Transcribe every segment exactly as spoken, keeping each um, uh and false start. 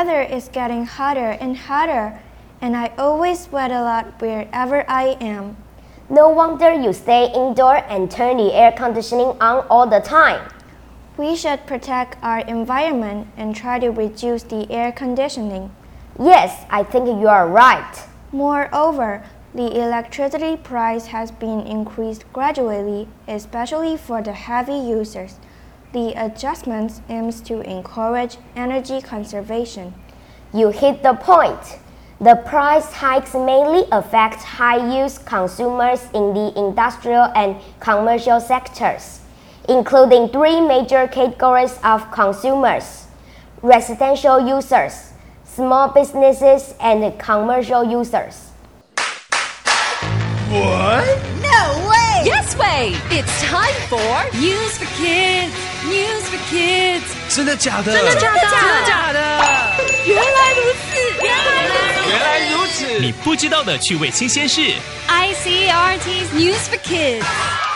weather is getting hotter and hotter, and I always sweat a lot wherever I am. No wonder you stay indoor and turn the air conditioning on all the time. We should protect our environment and try to reduce the air conditioning. Yes, I think you are right. Moreover, the electricity price has been increased gradually, especially for the heavy users. The adjustments aims to encourage energy conservation. You hit the point. The price hikes mainly affect high-use consumers in the industrial and commercial sectors, including three major categories of consumers: residential users, small businesses, and commercial users. What? No way! Yes way! It's time for News for Kids! News for Kids! 真的假的？ 真的假的？ 真的假的？ 原来如此！原来如此！ 原来如此！ 你不知道的趣味新鲜事。 I C R T's News for Kids.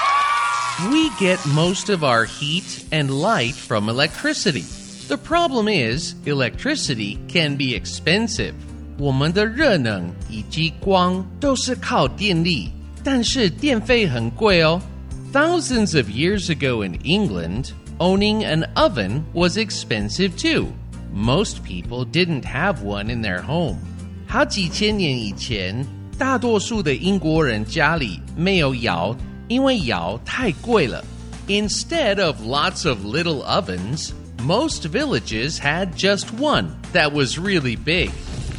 We get most of our heat and light from electricity. The problem is, electricity can be expensive. 我们的热能以及光都是靠电力，但是电费很貴哦。Thousands of years ago in England, owning an oven was expensive too. Most people didn't have one in their home. 好幾千年以前，大多數的英國人家裡沒有窯，因為窯太貴了。Instead of lots of little ovens, most villages had just one that was really big.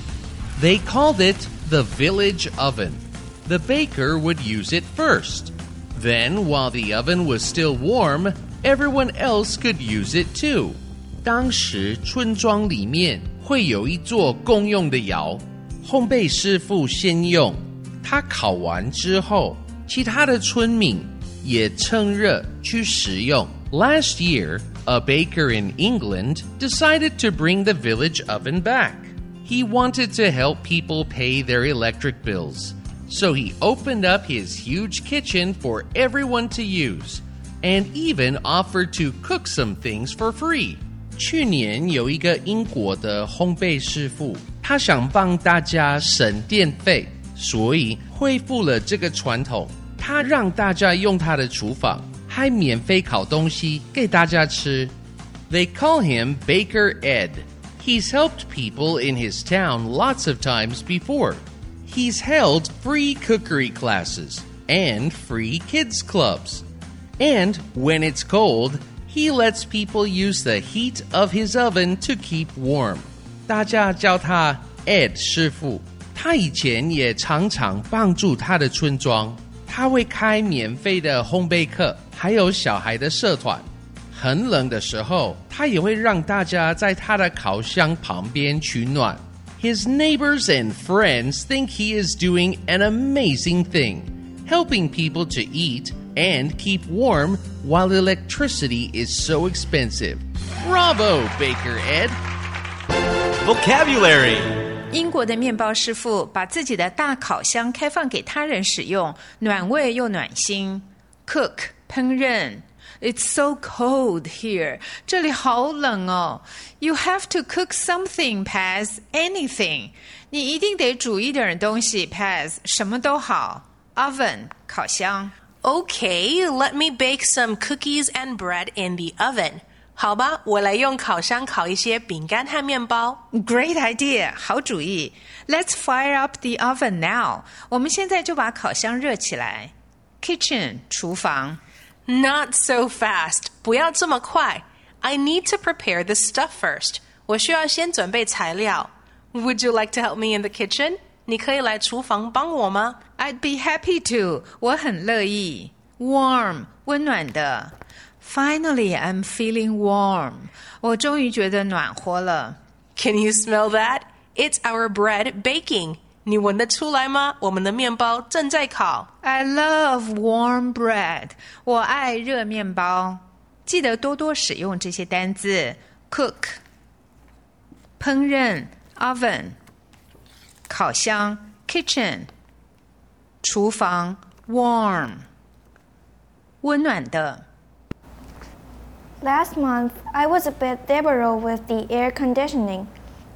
They called it the village oven. The baker would use it first. Then, while the oven was still warm, everyone else could use it too. 当時村莊裡面會有一座公用的窯，烘焙師傅先用，他烤完之後，其他的村民也趁熱去食用。Last year, a baker in England decided to bring the village oven back. He wanted to help people pay their electric bills, so he opened up his huge kitchen for everyone to use, and even offered to cook some things for free. 去年有一個英國的烘焙師傅，他想幫大家省電費，所以恢復了這個傳統。他讓大家用他的廚房，還免費烤東西給大家吃。They call him Baker Ed. He's helped people in his town lots of times before. He's held free cookery classes and free kids clubs. And when it's cold, he lets people use the heat of his oven to keep warm. 大家叫他 Ed 師傅。他以前也常常幫助他的村莊。他會開免費的烘焙課，還有小孩的社團。很冷的時候，他也會讓大家在他的烤箱旁邊取暖。His neighbors and friends think he is doing an amazing thing, helping people to eat and keep warm while electricity is so expensive. Bravo, Baker Ed! Vocabulary. 英国的面包師傅把自己的大烤箱開放給他人使用，暖胃又暖心。Cook 烹飪。It's so cold here. 這裡好冷哦。You have to cook something, Paz. Anything. 你一定得煮一點東西 Paz. 什麼都好。Oven 烤箱。 Okay, let me bake some cookies and bread in the oven. 好吧，我來用烤箱烤一些餅乾和麵包。 Great idea. 好主意。Let's fire up the oven now. 我們現在就把烤箱熱起來。Kitchen 廚房。 Not so fast. 不要這麼快。I need to prepare the stuff first. 我需要先準備材料。Would you like to help me in the kitchen? 你可以來廚房幫我嗎？ I'd be happy to. 我很樂意。Warm 溫暖的。Finally, I'm feeling warm. 我終於覺得暖和了。 Can you smell that? It's our bread baking. 你聞得出來嗎？我們的麵包正在烤。 I love warm bread. 我愛熱麵包。記得多多使用這些單字。Cook 烹飪 oven 烤箱 kitchen 廚房 warm 溫暖的。 Last month, I was a bit liberal with the air conditioning.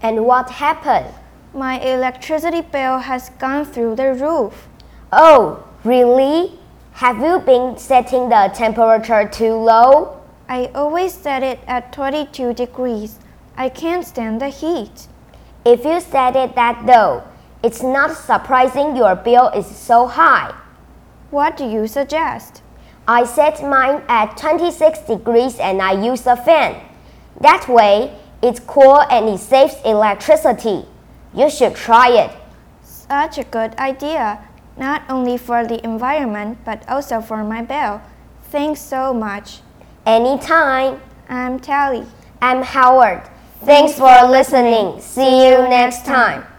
And what happened? My electricity bill has gone through the roof. Oh, really? Have you been setting the temperature too low? I always set it at twenty-two degrees. I can't stand the heat. If you set it that low, it's not surprising your bill is so high. What do you suggest? I set mine at twenty-six degrees and I use a fan. That way, it's cool and it saves electricity. You should try it. Such a good idea, not only for the environment but also for my bill. Thanks so much. Anytime. I'm Tally. I'm Howard. Thanks for listening. See you next time.